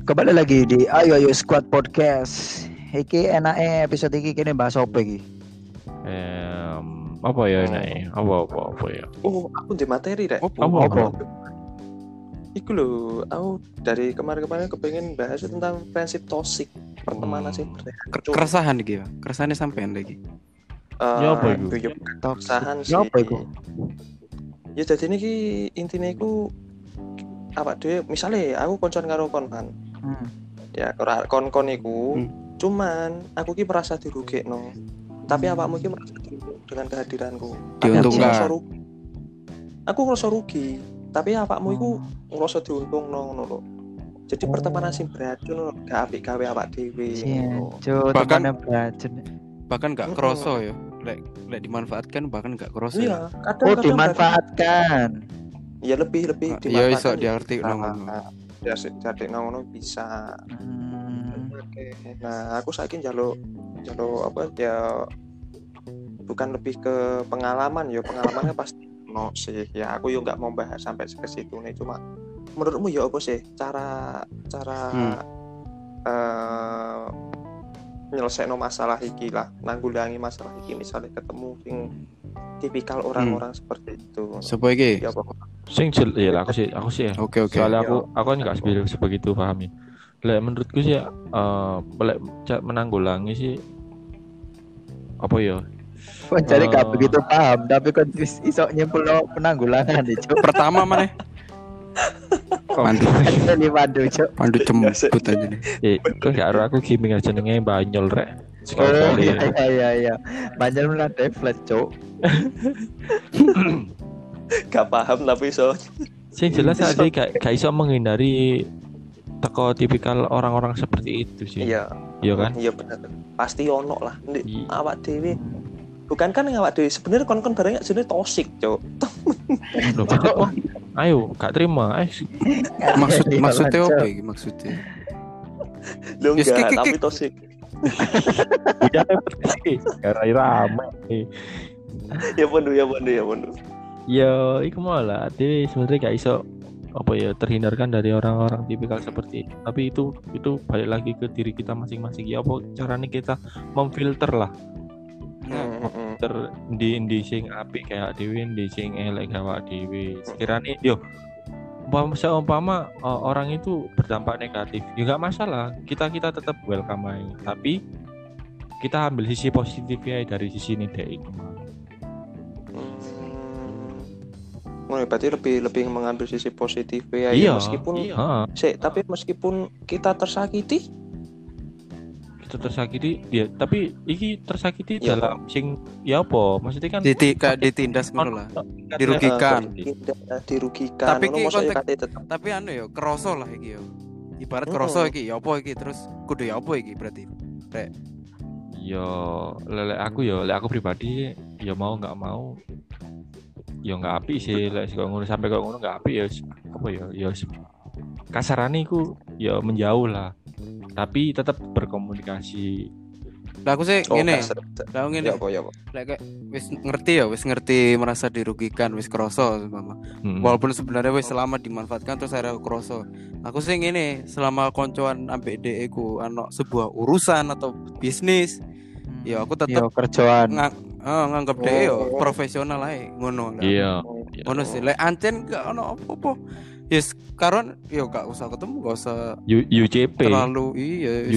Kembali lagi di Ayo Ayo Squad Podcast. Iki enake episode iki kene bahas apa iki? Apa ya enak apa ya? Oh, aku di materi rek. Apa? Iku lho, aku dari kemarin-kemarin kepengen bahas tentang friendship toxic, pertemanan sih. Keresahan iki ya. Keresahane sampean lagi. Ya apa iku? Ya keresahan sih. Ya apa iku? Ya jadi ini intinya iku apa dhewe misale aku koncoan karo kon kan. Ya kon-kon iku cuman aku ki merasa dirugekno. Tapi awakmu ki merasa dirugikan dengan kehadiranku. Diuntungkan. Aku ngerasa rugi, tapi awakmu iku ngerasa diuntungno ngono lho. Jadi pertemanan sing beracun gak apik gawe awak dhewe. Bahkan gak kroso ya. Lek dimanfaatkan bahkan gak kroso. Iya, kadang dimanfaatkan. dimanfaatkan. Ya lebih dimanfaatkan. Ya iso diarti ngono. Ya diarti ngono bisa. Oke. Nah, aku saiki njaluk apa ya bukan lebih ke pengalaman ya, pengalamannya pasti no sih. Ya aku yo enggak mau bahas sampai ke situ nih, cuma menurutmu ya apa sih cara nyelesaino masalah iki lah, nanggulangi masalah iki misalnya ketemu sing tipikal orang-orang seperti itu. Sopo iki? Ya apa? Sing ya lah aku sih ya. Oke. Soalnya aku kan enggak sebegitu pahami. Lek menurutku sih lek menanggulangi sih apa ya? Kok jadi gak begitu paham, tapi kan iso nyempulno penanggulangan itu. Pertama maneh. Pandu, Cuk. Pandu cembut aja nih. Kok gak ero aku gaming aja jenenge Banyol rek. Oh iya. Banyak melantai flat, Cuk. Gak paham tapi so. Sing jelas aja gak iso menghindari teko tipikal orang-orang seperti itu sih. Iya. Iya kan? Iya benar. Pasti ono lah. Awak dhewe. Bukan kan yang awak dhewe sebenarnya kon barangnya sebenarnya toxic, Cuk. Ayo, gak terima. Maksudnya apa iki maksudnya? Lu enggak, tapi toxic. Udah sih. Gara rame. Ya bondo. Ya, iku malah dhewe sebenarnya gak iso apa ya terhindarkan dari orang-orang tipikal seperti itu. Tapi itu balik lagi ke diri kita masing-masing. Ya apa caranya kita memfilter lah. Di sing apik kayak dhewe, di sing elek kayak dhewe. Sekiranya yo umpama orang itu berdampak negatif, ya enggak masalah. Kita tetap welcome aja. Tapi kita ambil sisi positifnya dari sisi ini deh itu. Berarti lebih mengambil sisi positifnya iya, ya meskipun tapi meskipun kita tersakiti ya, tapi iki tersakiti ya, dalam sing ya apa maksudnya kan ditindas ngono lah, dirugikan. Tapi iki tapi ya kroso lah iki yo, ibarat kroso iki ya apa iki terus kudu ya apa iki berarti rek lek aku pribadi ya mau nggak mau ya nggak api sih lek kok ngono sampai kok ngono nggak api ya apa ya kasarane iku ya menjauh lah. Tapi tetap berkomunikasi. Lah aku sih ngene. Lah ngene. Ya apa. Lek wis ngerti merasa dirugikan, wis kroso mama. Walaupun sebenarnya wis selama dimanfaatkan terus akhirnya kroso. Aku sih ngene, selama koncoan ambek dhek iku ana sebuah urusan atau bisnis, ya aku tetap kerjaan. Nganggep dhek yo profesional ae ngono lah. Iya. Ngono sih. Lek ancen gak ono apa-apa. Yes, karon yo gak usah ketemu, gak usah UCP. Terlalu iya.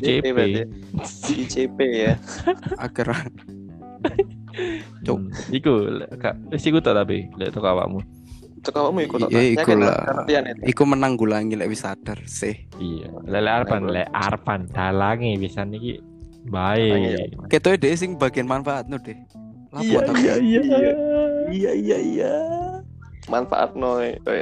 UCP ya. Akhirnya. Cuk, iku iku tak tapi lek tok awakmu. Tok awakmu iku tok. Iya, iku lah. Iku menanggulangi lek wis sadar sih. Iya, lek arpan dalange pisan iki baik. Ketoke dhek sing bagian manfaatno deh. Iya. Manfaatno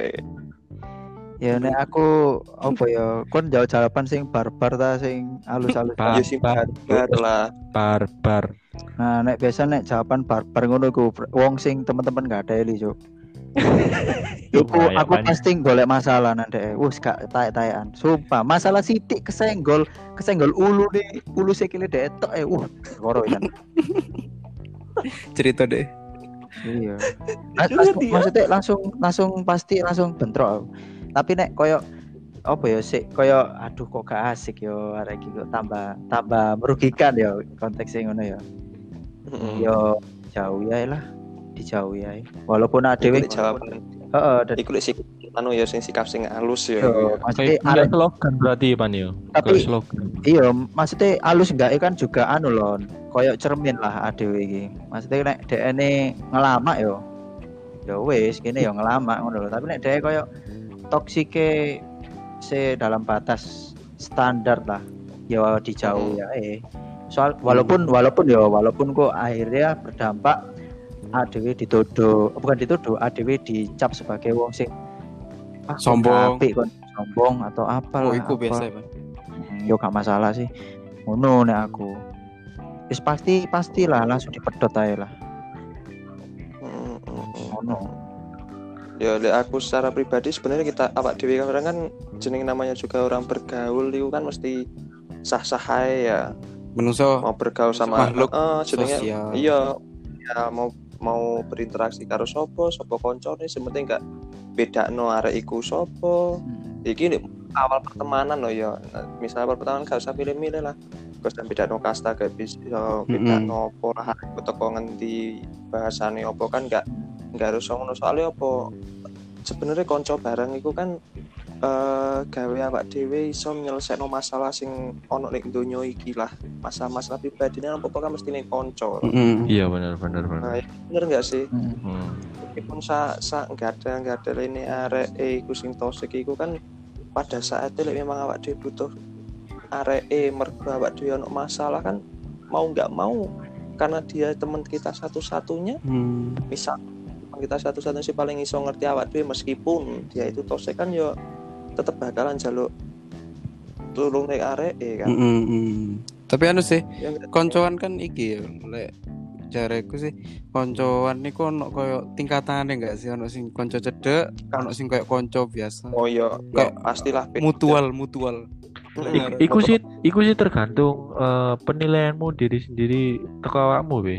Ya nek aku apa ya kon jawab jawaban sing barbar ta sing halus-halus ya sing barbar lah. Barbar. Nah nek biasa nek jawaban barbar ngono ku wong sing teman-teman gak ada eli Cuk. Aku pasti golek masalah nanti. Wes gak taek-taekan. Sumpah masalah sithik kesenggol ulu sikile detok koro kan. Cerita deh. Iya. Maksudnya langsung pasti langsung bentrok. Tapi nek koyo apa ya sik kaya aduh kok gak asik yo arek iki kok tambah merugikan ya konteksnya ngono ya. Yo jauh ya lah, dijauhi ae. Walaupun adewe jawaban. heeh, Iku lek sikap anu ya sing sikap sing halus ya. maksudnya Kayak slogan berarti Pan yo. Tapi- Kayak slogan. iya, maksudnya alus enggak kan juga anu lon, koyok cermin lah adewe iki. Maksudnya nek dekne ngelamak yo. Ya wis kene yo ngelamak ngono lho, tapi nek dhek koyok toksike dalam batas standar lah. Ya dijauhi ya. Soal walaupun kok akhirnya berdampak adewe bukan dituduh, adewe dicap sebagai wong sing Sombong. apik kon sombong atau apa Oh, lah. iku apa. biasa ya, Bang. Yo gak masalah sih. Ngono nek aku. Wis pastilah langsung dipedhot ae lah. Ngono. Ya lek aku secara pribadi sebenarnya kita awak dhewe kadang kan jeneng namanya juga orang bergaul itu kan mesti sah-sah ae ya. Menungso Mau bergaul sama makhluk jenenge sosial. iya ya mau berinteraksi karo sapa koncone sementing gak bedakno arek iku sapa. Iki nek awal pertemanan loh ya. Misal awal pertemanan gak usah pilih-milih lah. Gak usah bedakno kasta gak bisa bedakno apa lah teko ngendi bahasane apa kan gak harus ngono soalnya apa sebenarnya konco bareng iku kan gawe awak dhewe iso nyelesekno masalah sing ono ning donya iki lah. Masalah-masalah pribadine apa kan mesti ning konco. Iya benar. Nah, bener enggak sih? Hmm. Meskipun enggak ada ini arek iku sing tosik iku kan pada saat itu memang awak dhewe butuh arek mergo awak dhewe ono masalah kan mau enggak mau karena dia teman kita satu-satunya. Misal kita satu-satunya sih paling iso ngerti awak dhewe meskipun dia itu tosik kan yo tetep bakalan jaluk tulung nek arek kan. Tapi anu sih, Ya enggak? koncoan kan iki ya, lek jareku sih koncoan niku ono koyo tingkatane enggak sih, ono sing konco cedek, ono sing koyo konco biasa. Oh iya, Kayak pastilah beda. Mutual. Iku sih tergantung penilaianmu diri sendiri teko awakmu be.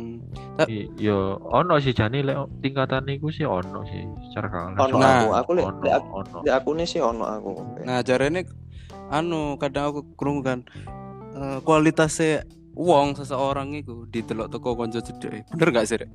Yo ono sih jane lek tingkatan iku sih ono sih secara Ono langsung. aku lek ono. aku nih sih ono aku. Nah, jarene anu kadang aku krungu kan kualitasnya wong seseorang itu didelok teko konco cedek. Bener enggak sih, Rek?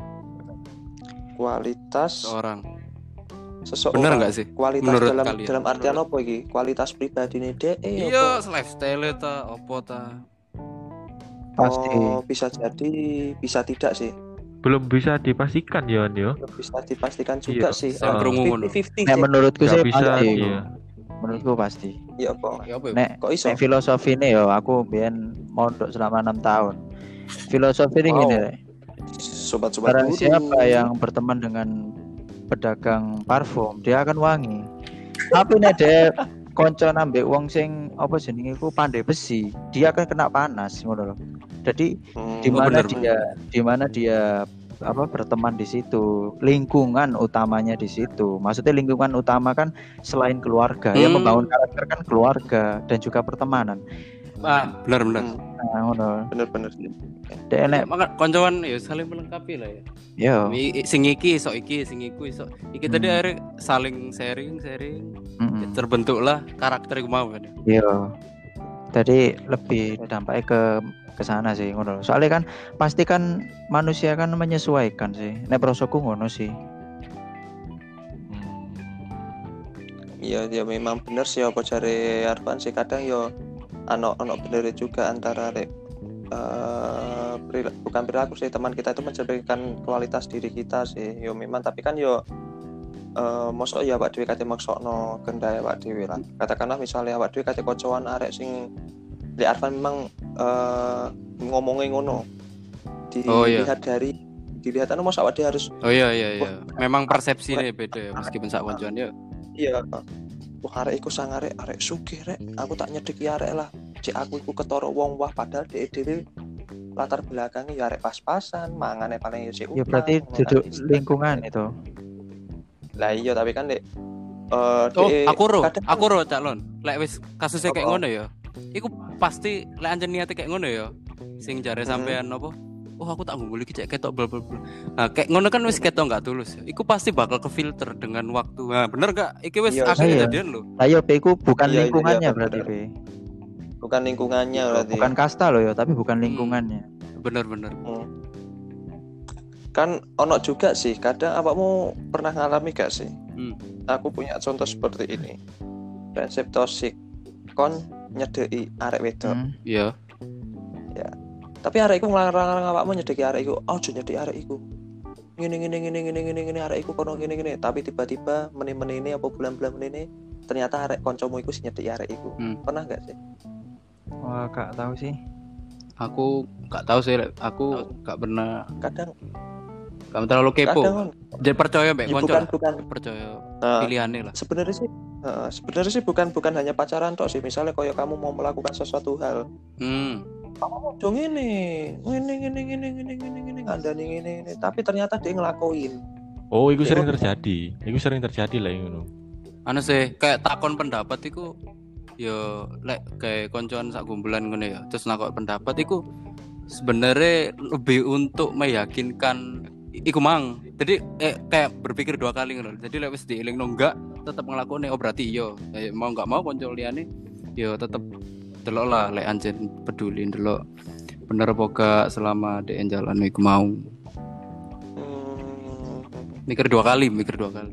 Kualitas Seorang. seseorang. Bener enggak sih? Kualitas Menurut dalam kalian? dalam artian apa iki? Kualitas pribadine dhek Iya, lifestyle ta opo ta. Pasti. Oh, bisa jadi, bisa tidak sih. Belum bisa dipastikan ya yo. Belum bisa dipastikan juga Iya, sih. saya krungu ngono. 50-50 Nek sih. menurutku Gak sih bisa pasti. iya. Menurutku pasti. Iya kok. Ya apa ya? Nek Kok iso? nek filosofi ini yo aku biyen mondok selama 6 tahun. Filosofi ini Wow. gini Rek. Sobat-sobat Barang guru. siapa yang berteman dengan pedagang parfum, dia akan wangi. Tapi nek dia konco nambah wong sing apa jenenge iku pandai besi, dia akan kena panas ngono lho. Jadi di mana dia apa berteman di situ, lingkungan utamanya di situ. Maksudnya lingkungan utama kan selain keluarga, yang membangun karakter kan keluarga dan juga pertemanan. Bener. Nah, ngono. Bener-bener. Dek nek Maka koncoan ya saling melengkapi lah ya. yo Sing iki iso iki, sing iku iso. Iki tadi akhirnya saling sharing. Ya, terbentuklah karakter iku mau kan. Iya. Tadi lebih dampaknya ke sana sih ngono. Soalnya kan pasti kan manusia kan menyesuaikan sih. Nek prosoku ngono sih. Iya, ya memang bener sih apa cari Arfan sih kadang yo ono bener juga antara bukan perilaku sih teman kita itu mencerminkan kualitas diri kita sih. Yo memang tapi kan yo mosok ya awak dhewe kate maksokno kendhae awak dhewe lah. Katakanlah misalnya awak dhewe kate kocoan arek sing di Arfan memang ngomongin ngono. Dilihat anu mosok awak dhewe harus Oh iya. Memang persepsinya beda ya meskipun sak koncoan ya. iya. Wah arek iku sang arek sugih rek. Aku tak nyedeki arek lah. Cek aku iku ketara wong wah padahal dhek dhewe latar belakangnya ya arek pas-pasan, mangane paling ya sik. Ya berarti duduk lingkungan itu. Lah iya tapi kan dek aku ro Cak Lon. Lek wis kasusnya kayak ngono ya. Iku pasti lek anjen niate kayak ngono ya. Sing jare sampean apa? oh aku tak ngumpul iki cek ketok bla bla bla. Nah, kayak ngono kan wis ketok enggak tulus. Iku pasti bakal kefilter dengan waktu. Nah, bener gak? Iki wis Iya, akeh iya. kejadian lho. Ayo P ku bukan Iya, lingkungannya iya, berarti benar. P. Bukan lingkungannya berarti. Bukan kasta loh ya, tapi bukan lingkungannya. Bener-bener. Kan ono juga sih, kadang awakmu pernah ngalami gak sih? Aku punya contoh seperti ini. Prinsip toksik kon nyedeki arek wedok. Iya. Ya. Tapi arek iku nglarang awakmu nyedeki arek iku. Ojo nyedeki arek iku. Ngene arek iku kono ngene. Tapi tiba-tiba menit-menit ini apa bulan-bulan ini ternyata arek kancamu iku sing nyedeki arek iku. Pernah gak sih? Wah, gak tahu sih. Aku gak tahu sih, aku gak pernah. Kadang Kamu terlalu kepo. Jadi percaya mbak ya, konco. bukan. Percaya pilihannya lah. Sebenarnya sih bukan hanya pacaran tok sih. Misalnya kalau kamu mau melakukan sesuatu hal, kamu mau dong ini ngandani ini. Tapi ternyata dia ngelakuin. Oh, itu sering terjadi. Itu sering terjadi lah ngono. Anu sih, kayak takon pendapat iku ya lek kayak koncoan sak gumpulan ngono ya. Terus nakok pendapat iku sebenarnya lebih untuk meyakinkan iku mang. Jadi kayak berpikir dua kali ngono. Jadi lek wis dielingno enggak tetep nglakoni, oh berarti iya. Mau enggak mau konco liyane ya tetep delok lah lek anjen peduli delok bener apa gak selama dek jalan iku mau. Mikir dua kali. Mikir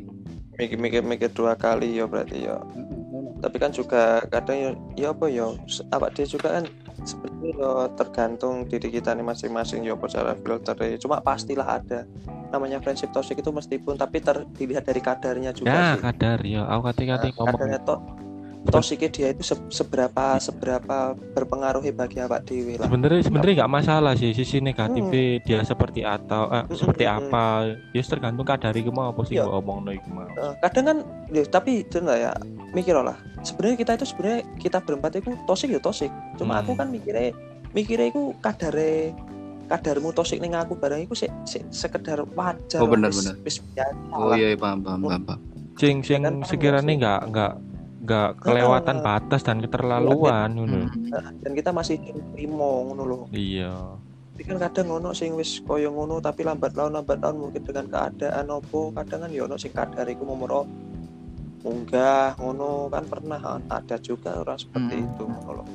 dua kali ya berarti ya. Tapi kan juga kadang ya apa ya awak dia juga kan sebenarnya ya tergantung diri kita nih masing-masing ya apa cara filternya. Cuma pastilah ada namanya prinsip toksik itu meskipun tapi dilihat dari kadarnya juga ya, sih. Kadar ya. Aku kata ngomong. Kadarnya toksiknya dia itu seberapa berpengaruhi bagi awak dewi lah. Sebenarnya nggak masalah sih sisi negatifnya dia seperti atau seperti apa. Ya tergantung kadar iku mau apa sih mbok omongno iku mau. Kadang kan tapi itu enggak ya mikir lah. Sebenarnya kita berempat itu toksik ya toksik. Cuma aku kan mikirnya itu kadarmu toksik ning aku barang iku sekedar wajar. Oh benar. Oh iya paham. Sing sekiranya enggak kelewatan batas dan keterlaluan ngono. Dan kita masih terima ngono loh. Iya. Tapi kan kadang ono sing wis koyo ngono tapi lambat laun mungkin dengan keadaan opo kadang kan ya ono sing kadar iku momoro munggah ngono kan pernah ada juga orang seperti itu ngono loh.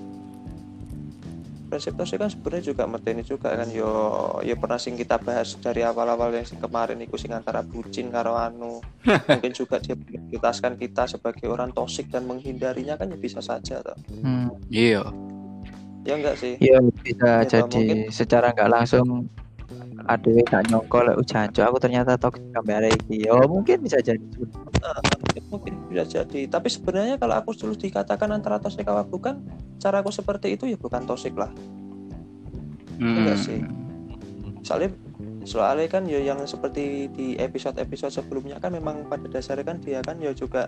Prinsip toksik kan sebenarnya juga meteni juga kan yo pernah sing kita bahas dari awal-awal yang kemarin iku sing antara bucin karo anu. Mungkin juga dia prioritaskan kita sebagai orang toksik dan menghindarinya kan ya bisa saja toh. Iya. Ya enggak sih? Iya bisa ya, jadi mungkin secara enggak langsung adewe gak nyongko lek ujanjo aku ternyata toksik kamera iki. Oh mungkin bisa jadi. Mungkin bisa jadi. Tapi sebenarnya kalau aku dulu dikatakan antara toksik apa bukan, cara aku seperti itu ya bukan toksik lah. Enggak sih. Soalnya kan ya yang seperti di episode sebelumnya kan memang pada dasarnya kan dia kan ya juga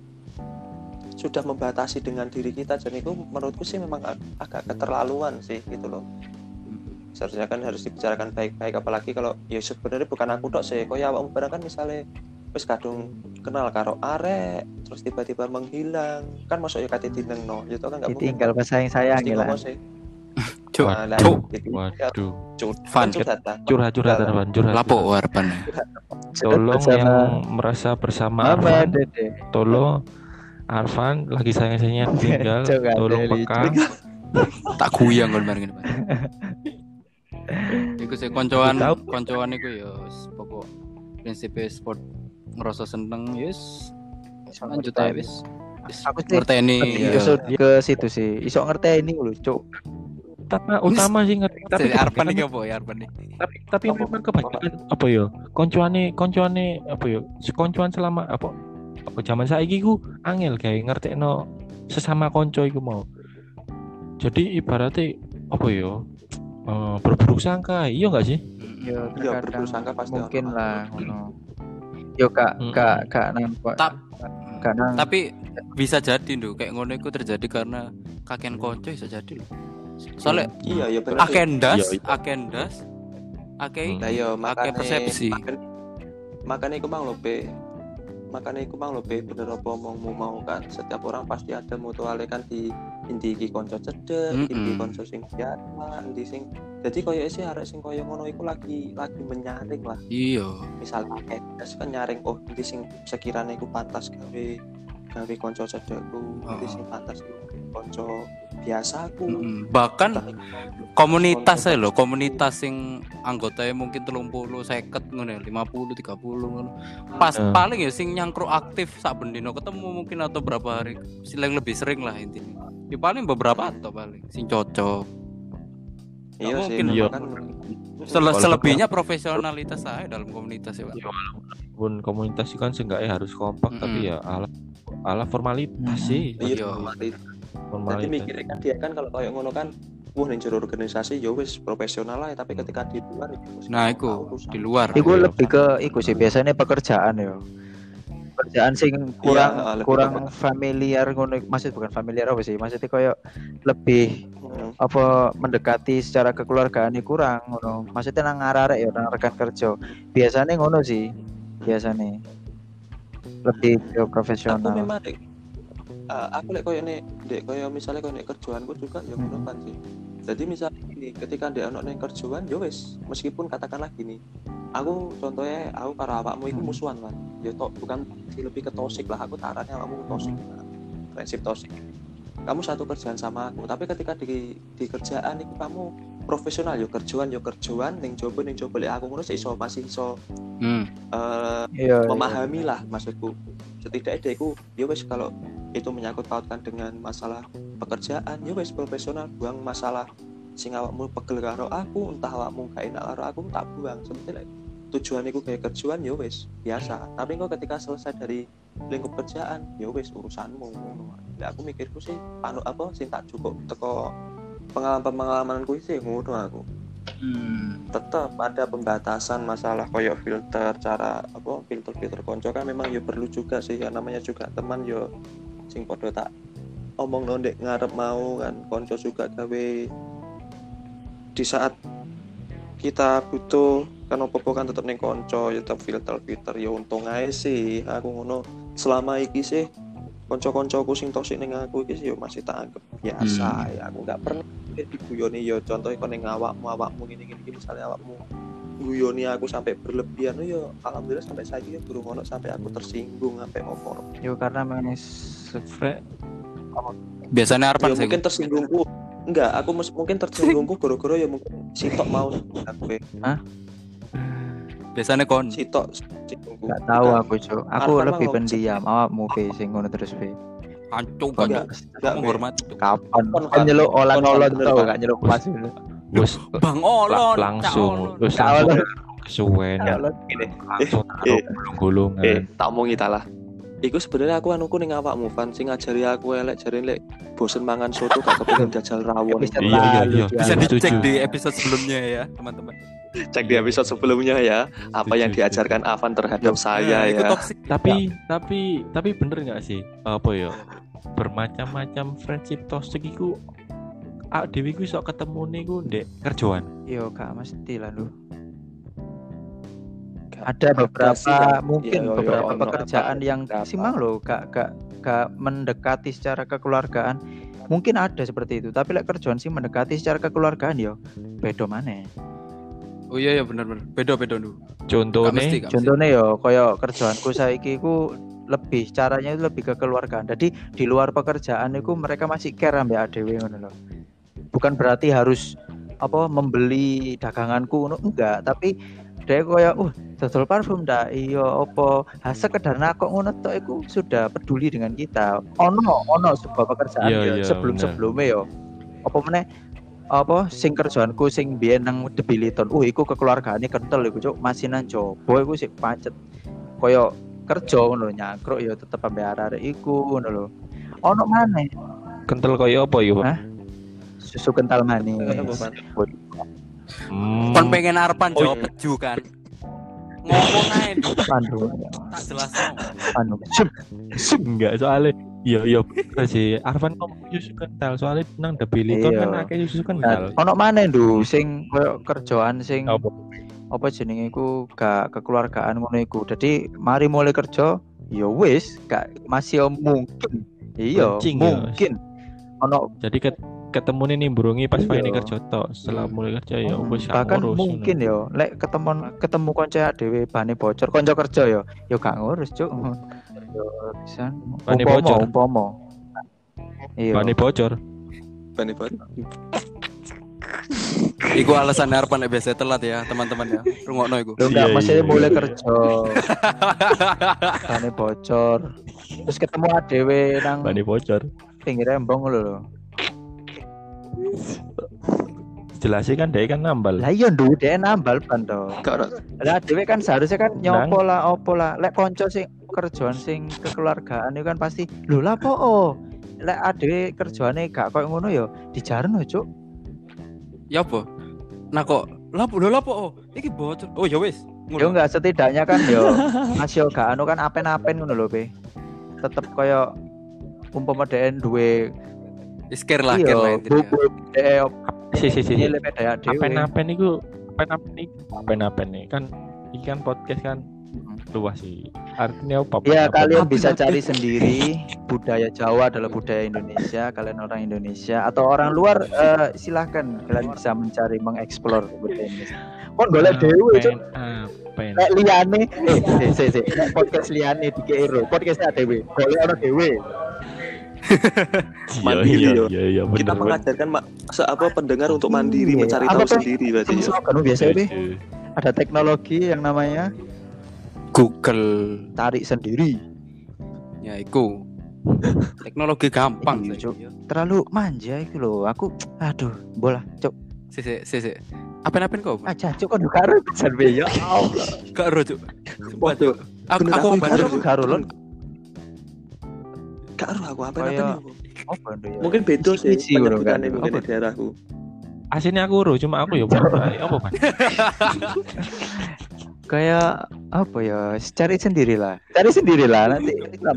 sudah membatasi dengan diri kita, dan itu menurutku sih memang agak keterlaluan sih gitu loh. Seharusnya kan harus dibicarakan baik-baik, apalagi kalau ya sebenarnya bukan aku tok sih, kok ya awakmu barang kan misalnya wis kadung kenal karo arek terus tiba-tiba menghilang kan masuk ya kate dinengno gitu kan enggak mungkin tinggal pas sayang gila. Waduh. Curhat lapo harapan. Tolong yang merasa bersama Arfan, tolong Arfan lagi sayang-sayangnya tinggal, tolong peka. Tak guyang kon bareng ngene. Iku sing koncoan iku ya pokok prinsip sport ngerasa seneng yes lanjut aja wis aku ngerteni ke situ sih iso ngerteni lho cuk. Utama sih ngerti tapi Arpan iki opo ya Arpan tapi memang kebanyakan apa ya koncoane apa ya koncoan selama apa zaman saiki ku angel gawe ngertekno sesama konco iku mau. Jadi ibaratnya apa ya berburuk sangka iya enggak sih? Ya berburuk sangka pasti mungkin lah ngono. Yo kak nampak. Tapi bisa jadi lho kayak ngono iku terjadi karena kakean konco bisa jadi lho. Soalnya iya benar. Akendas persepsi. Makanya iku mang lho bener apa omongmu mau kan. Setiap orang pasti ada mutuale kan di inti iki konco cedek, inti konco sing biasa, inti sing Jadi koyo sih arek sing koyo ngono iku lagi menyaring lah. Iya. Misalnya kan nyaring oh iki sing sekiranya iku pantas gawe kanca cedekku, iki sing pantas kanca biasaku. Bahkan komunitas lho, komunitas sing anggotanya mungkin 30, 50 ngono, 50, 30 ngono. Pas paling ya sing nyangkruk aktif sak bendino ketemu mungkin atau berapa hari, lebih sering lah intinya. Ya paling beberapa atau paling sing cocok. Iya mungkin sih, kan selebihnya profesionalitas saya dalam komunitas ya Pak. Walaupun komunitas itu kan seenggaknya harus kompak tapi ya ala formalitas sih. Iya, formalitas. Jadi mikirnya kan dia kan kalau kayak ngono kan ning jero organisasi ya wis profesional lah, tapi ketika di luar itu di luar. Iku lebih ke iku sih biasanya pekerjaan ya. Pekerjaan sing kurang familiar ngono, maksud bukan familiar apa sih? Maksudnya kayak lebih apa mendekati secara kekeluargaan kurang ngono. Maksudnya nang arek ya nang rekan kerja. Biasanya ngono sih. Biasanya lebih ke profesional. Aku memang aku lek koyo nek koyo misale koyo nek kerjaanku juga ya ngono kan sih. Jadi misalnya gini, ketika dia ono ning kerjaan ya wis, meskipun katakanlah gini. Aku contohnya aku karo awakmu iku musuhan kan. Ya bukan lebih ke toksik lah, aku tarannya awakmu toksik. Prinsip toksik. Kamu satu kerjaan sama aku, tapi ketika di kerjaan itu kamu profesional yo kerjaan ning jobo lek aku ngono masih iso memahami lah maksudku. Setidaknya aku yo wis kalau itu menyangkut pautkan dengan masalah pekerjaan yo wis profesional, buang masalah sing awakmu pegel karo aku, entah awakmu gak enak karo aku tak buang. Sebetulnya tujuan iku kayak kerjaan ya wis biasa, tapi kok ketika selesai dari lingkup kerjaan ya wis urusanmu. Lah aku mikirku sih sing tak cukup teko pengalamanku sih ngono aku. Tetap ada pembatasan masalah koyo filter filter konco kan memang ya perlu juga sih, ya namanya juga teman yo sing padha tak omong ndek ngarep mau kan konco juga gawe di saat kita butuh kan opo kan tetep ning konco ya tetep filter ya untung ae sih aku ngono. Selama iki sih konco-koncoku sing toksik ning aku iki yo masih tak anggap biasa ya. Aku enggak pernah diguyoni yo contoh kon ning awakmu ngene misalnya awakmu guyoni aku sampai berlebihan yo alhamdulillah sampai saiki durung ono sampai aku tersinggung sampai opo. Yo karena memang biasanya Arpan mungkin tersinggungku. Enggak, aku mungkin tersinggungku gara-gara ya mungkin sitok mau aku. Hah? Biasanya kon sitok enggak tahu aku, Cuk. Aku lebih pendiam, awakmu pe sing ngono terus pe. Ancung enggak menghormati. Kapan nyeluk olan-olan tau gak nyeluk pas dulu. Wes Bang Olon langsung kesuwen ya. Langsung gulung-gulungan. Tak omongi ta lah. Iku sebenarnya aku anuku ning awakmu Van sing ngajari aku elek jare lek bosen mangan soto gak kepengin jajal rawon. Iya. Bisa dicek di episode sebelumnya ya, teman-teman. Cek di episode sebelumnya ya, apa yang diajarkan Avan terhadap saya ya. Tapi bener enggak sih? Apa ya? Bermacam-macam friendship toxic iku dhewe iku iso ketemune iku ndek kerjaan. Yo gak mesti lah lho. Ada beberapa beberapa pekerjaan yang simang loh gak mendekati secara kekeluargaan. Mungkin ada seperti itu, tapi lek kerjaan sih mendekati secara kekeluargaan yo beda maneh. Oh iya benar beda dulu. Contohnya yo koyo kerjaanku saiki ku lebih caranya itu lebih ke kekeluargaan. Jadi di luar pekerjaan itu mereka masih care ambek adewe ngono lho. Bukan berarti harus membeli daganganku ngono enggak, tapi dia koyo dodol parfum ndak iya opo sekedar nakok ngono tok iku sudah peduli dengan kita. Ono sebuah pekerjaan sebelum-sebelumnya yo. Apa meneh sing kerjaanku sing biyen nang Debiliton. Iku kekeluargaane kental iku cuk, masinan jobo iku sik pacet. Koyo kerja ngono nyakruk ya tetep ambek arek iku ngono lho. Ono maneh kental koyo apa ya, Pak? Susu kental manis. Kon pengen Arpan jawab peju kan. Ngomong ae Pandu. Tak jelasno. Pandu. Enggak soalnya iya sih Arvan ngomong susu kental soalnya nang Debiliton kan akeh susu kental. Ono maneh lho sing koyo kerjaan sing apa jenenge iku gak kekeluargaan ngono iku. Jadi mari mulai kerja ya wis gak masih mungkin. Iya, mungkin. Ono jadi ketemu nih nimbrungi pas Iya. main kerja tok. Setelah mulai kerja ya wis gak bahkan ngurus. mungkin yo lek ketemu kanca dhewe bane bocor kanca kerja yo gak ngurus cuk yo bisa Bane bocor. umpama iya Bane bocor. Bani bani. Iku alasan Arpan nek biasa telat ya, teman-teman ya. Rungokno iku. lu enggak Iya, masih iya, mulai iya. kerja bane bocor terus ketemu dhewe nang Bane bocor. pinggir embong lho Jelasin kan dia kan nambal. lah iya nduwe dhek nambal ban to Gak ono. lah dhewe kan seharusnya kan nyopo lah opo lah lek kanca sing kerjaan sing kekeluargaan itu kan pasti lho lah po lek adewe kerjaane gak koyo ngono ya dijarno cuk Ya apa? Nah kok lapo iki bocor. Oh ya wis. yo enggak setidaknya kan yo masih gak anu kan apen-apen ngono lho be tetep koyo umpama dhek duwe Isker lah, ker lah intinya. Si. Nilai beda dhewe. Apen-apen iku apen-apen nih kan iki kan podcast kan luas sih. Artinya apa? Ya kalian bisa Apen-apen. cari sendiri budaya Jawa adalah budaya Indonesia, kalian orang Indonesia atau orang luar silahkan kalian bisa mencari mengeksplor budaya Indonesia. Kon golek dhewe cuk. Apen. Lek liyane lek podcast liyane dikei ro, podcastnya dhewe. Golek ono dhewe. Mandiri, yo. Iya, Kita bener. mengajarkan pendengar untuk mandiri, Iya. mencari Apa tahu tuh? sendiri berarti ya. Slogan biasa be. Ada teknologi yang namanya Google. tarik sendiri. Ya iku. Teknologi gampang Iya, sih. Cuk. Terlalu manja itu loh. Aku aduh, bola, cuk. Sik. Apen-apen kok? Aja cuk kon karo pisan be ya. Allah. Gak ero, Cuk. Sumpah, Cuk. Aku Bener, aku aku bener. Karo karo lon. Gak aruh aku apa Kayak- nih. Apa ndo ya? Mungkin beda sih Isi ngono kan. penyebutannya mungkin Apa? di daerahku. Aslinya aku ro, cuma aku ya apa Pan? Kayak apa ya? Cari sendirilah. Cari sendirilah nanti.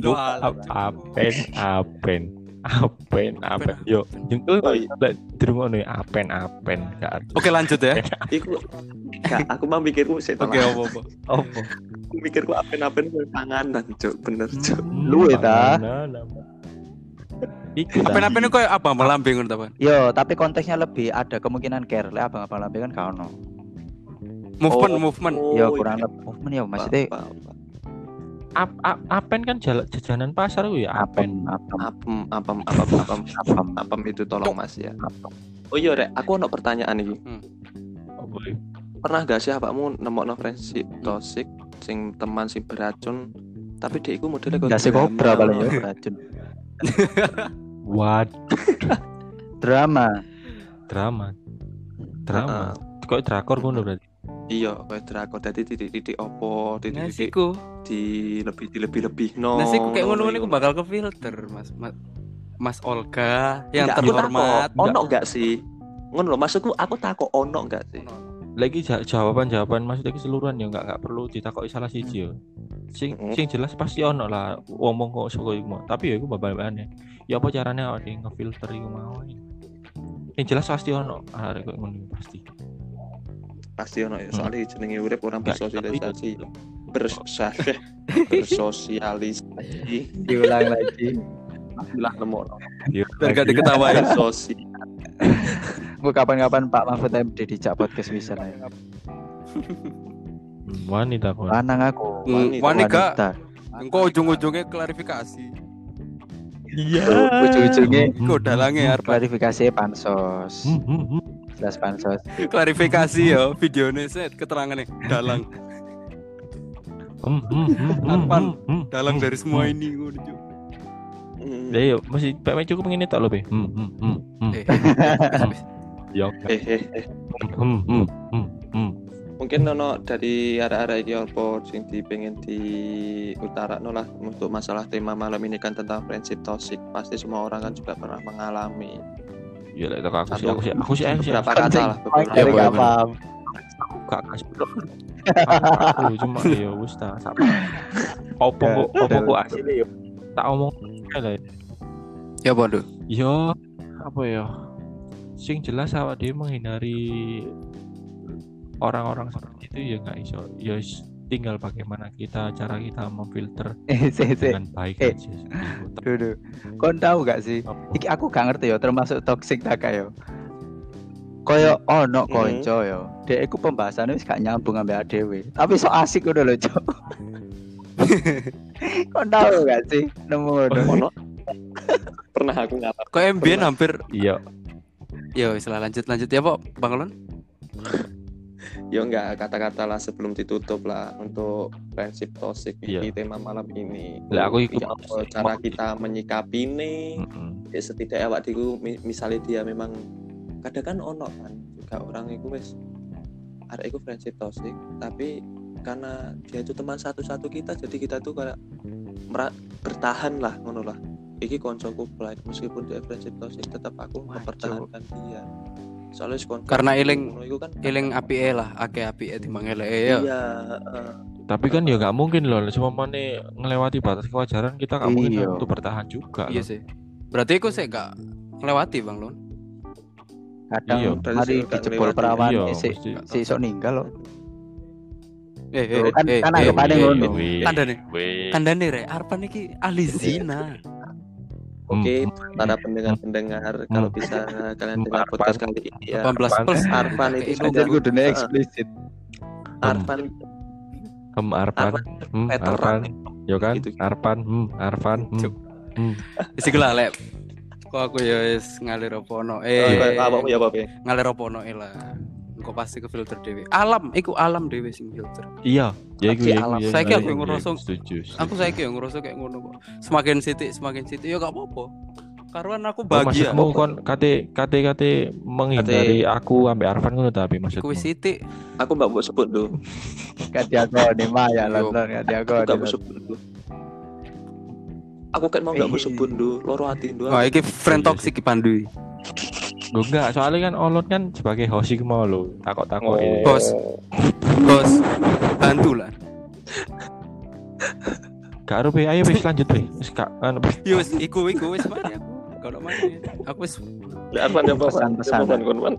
Apen. Yo, jengkel Oh, iya. lek dirungokno apen gak arti. Oke, lanjut ya. Iku gak, aku mah mikirku sih. Oke, apa-apa. Apa? Aku mikirku apen-apen panganan, Cuk. Bener, Cuk. Lu ya, ta? Iku ta. Apen-apen itu kayak apa? Melambing ngono ta, Pan? Yo, tapi konteksnya lebih ada kemungkinan care. Lek abang-abang lambe kan gak ono. Movement. Yo kurang lebih movement ya maksudnya Apen kan jajanan pasar ku ya apen. apem itu tolong Mas ya. Oh iya Rek, aku ono pertanyaan iki. Apa? Pernah gak sih awakmu nemokno friendship toxic sing teman sing beracun tapi dia iku modelnya kok Gak sih kobra paling ya beracun. What? Drama. Drama. Kok drakor ngono berarti? Iya, kayak drakor dadi titik-titik opo, titik-titik Nasiku. lebih no. Nasiku kayak ngono-ngono iku bakal ke filter, Mas Olga yang Enggak, aku terhormat. takut, ono enggak sih? Ngono lho, maksudku aku takut ono enggak sih? Lagi jawaban maksudnya keseluruhan ya enggak perlu ditakoki salah siji yo. Sing jelas pasti ono lah ngomong kok saka iku mau. Tapi ya iku babane. Ya apa carane awake ngefilter iku mau. Yang jelas pasti ono arek kok ngono pasti. Pasti ono ya, soalnya jenenge urip orang Enggak, bersosialisasi. Bersosialisasi. Diulang lagi. Bilang nemu Biar gak diketawain. sosial. Gue kapan-kapan Pak Mahfud MD dijak podcast bisa lah. Wanita kok. Lanang aku. Wani gak. Wanita. Engko ujung-ujungnya klarifikasi. Iya. Ujung-ujungnya Kok dalangnya arep klarifikasi pansos. Jelas pansos. klarifikasi ya videonya set keterangannya dalang dalang dari semua ini ngono Cuk. Ya yo masih PMI cukup ngene tok lho be. Yo. Mungkin ono dari arah-arah iki apa sing pengen diutarakno lah untuk masalah tema malam ini kan tentang friendship toxic. Pasti semua orang kan juga pernah mengalami. Ya lek aku sih Beberapa kata lah. Dari gak paham. gak kasih aku cuma ya wis ta opo kok asine yo tak omong lah Ya bodoh. yo apa ya sing jelas awak dhewe menghindari orang-orang seperti itu ya nggak iso ya tinggal bagaimana cara kita memfilter Se. dengan baik Eh. aja. Duh. Kon tahu gak sih? Apa? Iki aku gak ngerti ya, termasuk toxic tak kayak. Koyo ono konco yo. Dek iku pembahasannya wis gak nyambung ambek dhewe. Tapi so asik udah lho, Cok. Kon tahu gak sih? Nemu Ono. Pernah aku ngalamin. Kok MBN hampir Iya. ya wis lah lanjut ya Pak Bang Lon. Ya enggak, kata-kata lah sebelum ditutup lah untuk friendship toxic Iya. ini tema malam ini. Lah aku ikut Ya, cara kita menyikapi ini. Ya setidaknya awak diku misalnya dia memang kadang kan ono kan juga orang itu wis arek iku friendship toxic tapi karena dia itu teman satu-satu kita jadi kita tuh kayak bertahan lah ngono lah. Iki koncoku baik meskipun dia friendship toxic tetap aku mempertahankan dia. Soalnya Karena eling apike lah, apike timbang eleke ya. Iya, Tapi kan ya nggak mungkin loh, cuma mana ngelewati batas kewajaran kita nggak mungkin Iya. untuk bertahan juga. Iya loh. sih. Berarti aku sih gak ngelewati Bang Lon. Kadang Iya, berarti mari sih gak dijebol lewati. perawan Iya, si mesti. iso ninggal loh. Kan Kan anggapannya ngono. Kandane rek Arpan iki ahli zina. Oke, para pendengar kalau bisa kalian dengar podcast kali ini ya. 18 plus Arpan itu Kayak sudah Anjir kudune eksplisit. Arpan Arpan, veteran. Arpan, yo kan, Gitu. Arpan, Arpan, Wis iku lah lek. Kok aku ya wis ngalir opo ono. Apa ya Pak? Ngalir opo ono lah. Engko pasti ke filter dhewe. Alam dhewe sing filter. Iya, ya iku ya. Alam. Saiki aku Iya, ngerasa- setuju. Aku saiki yo ngerasa kayak ngono kok. Semakin sithik ya gak apa-apa. Karuan aku Oh, bahagia. maksudmu kon kate menghindari aku ambek Arfan ngono tapi Iku maksudmu. wis sithik. Aku mbak mau sebut dulu. Gak diakoni mah ya Yo. London gak Aku diakoni. gak mau sebut dulu. Aku kan mau gak mau sebut dulu. Loro hati dulu. Wah, iki friend toxic Pandu. Gue enggak, soalnya kan Olot kan sebagai host iki mau lo takok-takok ini. Bos. Bantu lah. Gak arup ayo wis lanjut wis. Wis gak anu wis. Yo wis iku wis mari aku. Kalau mari aku wis Arpan yang Pesan-pesan. kon.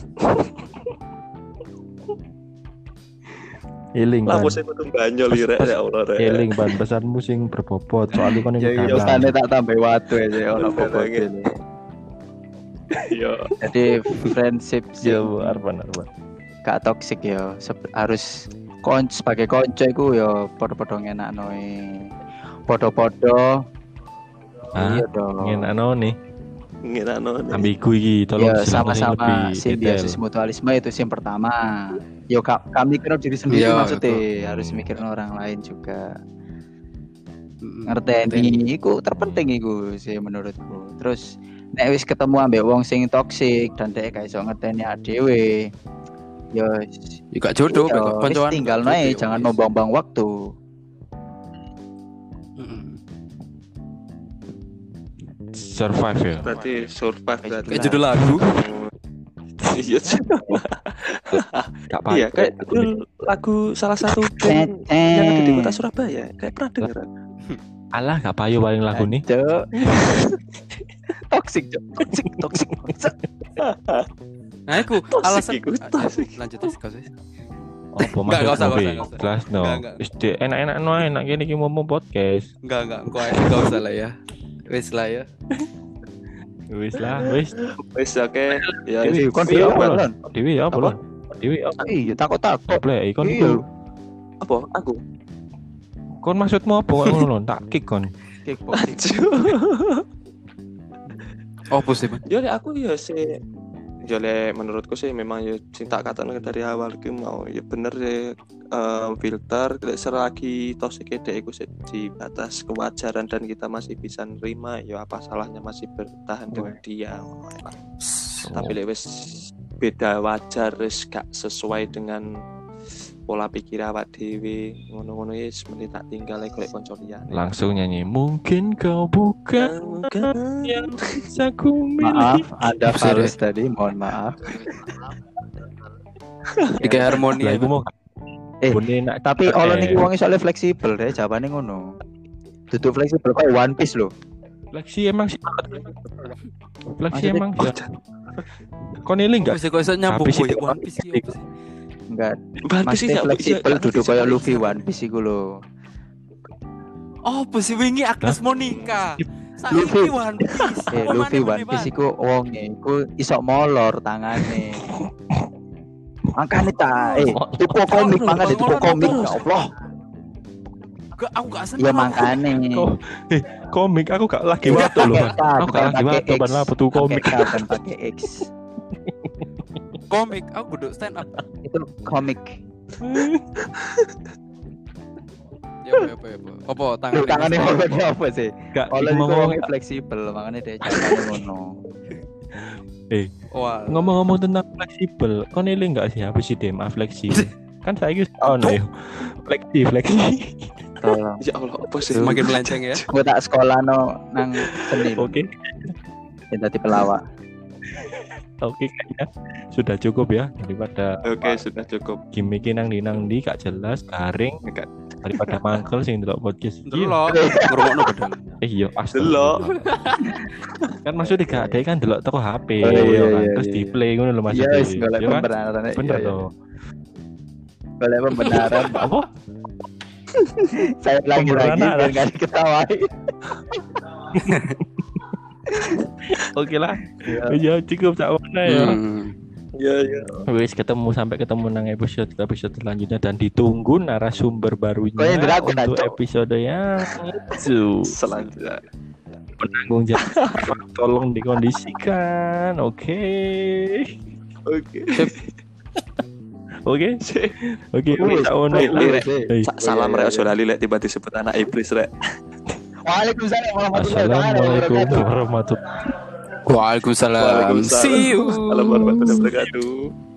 Healing Lah ban. saya kudu banyo lirek ya Allah rek. Healing ban pesanmu sing berbobot soalnya kon Ya ini yo stane tak tambah watu aja ono Bener, bobot gitu. ini. Iya. Jadi friendship sih Arfan. gak toxic ya. Harus sebagai konco iku ya padha-padha ngenakno padha-padha. Ah, Iya dong. ngenakno nih. Ngenakno. Ambigu iki tolong Ya silakan sama-sama lebih detail. simbiosis mutualisme itu sih yang pertama. Yo kami mikir diri sendiri Iya, maksudnya betul. harus mikirin orang lain juga. penting. Ngerteni iku terpenting iku sih menurutku. Terus nek wis ketemu ambek wong sing toksik dan dhek gak iso ngerteni dhewe. Yo Ya gak jodoh, iya, gak wis koncoan. tinggal nae jangan nombang-bang waktu. Survive ya. Berarti survive berarti. Kayak judul lagu. Iya. Gak apa. Iya, kayak lagu salah satu band yang ada di kota Surabaya. Kayak pernah dengar. Alah gak payu paling lagu nih. Cuk. Toksik, Cuk. Toksik. Nah, aku Toxic alasan iku, toxic. lanjut wis kau wis. Apa Nggak usah, maksudmu? nggak usah. Jelas no. Nggak. Wis enak-enak no enak gini ki ngomong podcast. Enggak, enggak usah lah ya. Wis lah ya. Wis lah, wis. Wis oke. Ya Dewi, kon iya, apa, Bang. Lon? Dewi ya apa Apa? lo? Dewi apa? Iya, takut-takut. Play ikon Iya. itu. Apa? Aku. Kon maksudmu apa kok ngono lho? Tak kick kon. Kickboxing. Oh, sih, Bang. Ya lek aku ya sih ya lek menurutku sih memang ya sing tak katakan dari awal ki mau ya bener sih filter lek selagi toxic dek iku sih di batas kewajaran dan kita masih bisa nerima ya apa salahnya masih bertahan dengan dia. Tapi lek wis beda wajar wis gak sesuai dengan pola pikir awak dhewe ngono-ngono wis mending tak tinggal lek golek kanca liyane. Langsung nyanyi. Mungkin kau bukan yang bisa ku Maaf, milih. ada fals tadi, mohon maaf. Tiga harmoni. Lah iku mau Bune nak Tapi Allah niki wonge soalnya fleksibel deh, jawabane ngono. Duduk fleksibel kok One Piece lho. Fleksi emang sih. Fleksi Maksudnya- emang sih. Kon ini enggak Wis kok iso nyambung Habis koyo itu- One Piece iki apa sih? Enggak. One Piece Masih gak fleksibel duduk kayak Luffy One Piece iku lho. Oh, besi wingi Agnes Monica. Luffy. Saiki One Piece. Luffy One Piece iku wonge iku iso molor tangane. Makane ta, tuku komik mangane tuku komik ya Allah. Aku gak seneng. Ya makane. Komik aku gak lagi waktu loh. Aku gak lagi waktu ban apa tuh komik. Kan pakai X. Komik, aku duduk stand up. Itu komik. Ya. Apa Tangannya apa sih? Gak Kalau ngomong fleksibel makanya dia caranya ngono. Wah. Ngomong-ngomong tentang fleksibel, kau nilai nggak sih apa sih DMA fleksibel? Kan saya gitu ya. Fleksi. Ya Allah, apa sih? Semakin melenceng ya. Gue tak sekolah nang seni. Oke. Yang tadi pelawak. Oke, kayaknya sudah cukup ya daripada Oke, sudah cukup. gimmick nang di gak jelas, garing, Enggak. daripada mangkel sing delok podcast. Delok, ngrungokno bedal. Iya, pasti. Delok. Kan maksudnya gak ada kan delok toko HP, Oh, iya, ya kan? iya, Terus iya. di play ngono lho Mas. Iya, wis golek Ya kan? pembenaran. Bener Iya. toh. Golek pembenaran. Apa? Saya lagi Pembenaran biar ada. enggak diketawain. Oke lah. Ya cukup sak mana ya. Iya. Wis sampai ketemu nang episode selanjutnya dan ditunggu narasumber barunya Kok yang diragu, untuk Cok? episode yang itu Selanjutnya. penanggung jawab tolong dikondisikan. Oke. Oke. Wis sak ono. Salam rek ojo lali lek tiba disebut anak iblis rek. Waalaikumsalam warahmatullahi Assalamualaikum wabarakatuh. warahmatullahi Waalaikumsalam. See you. Assalamualaikum warahmatullahi wabarakatuh.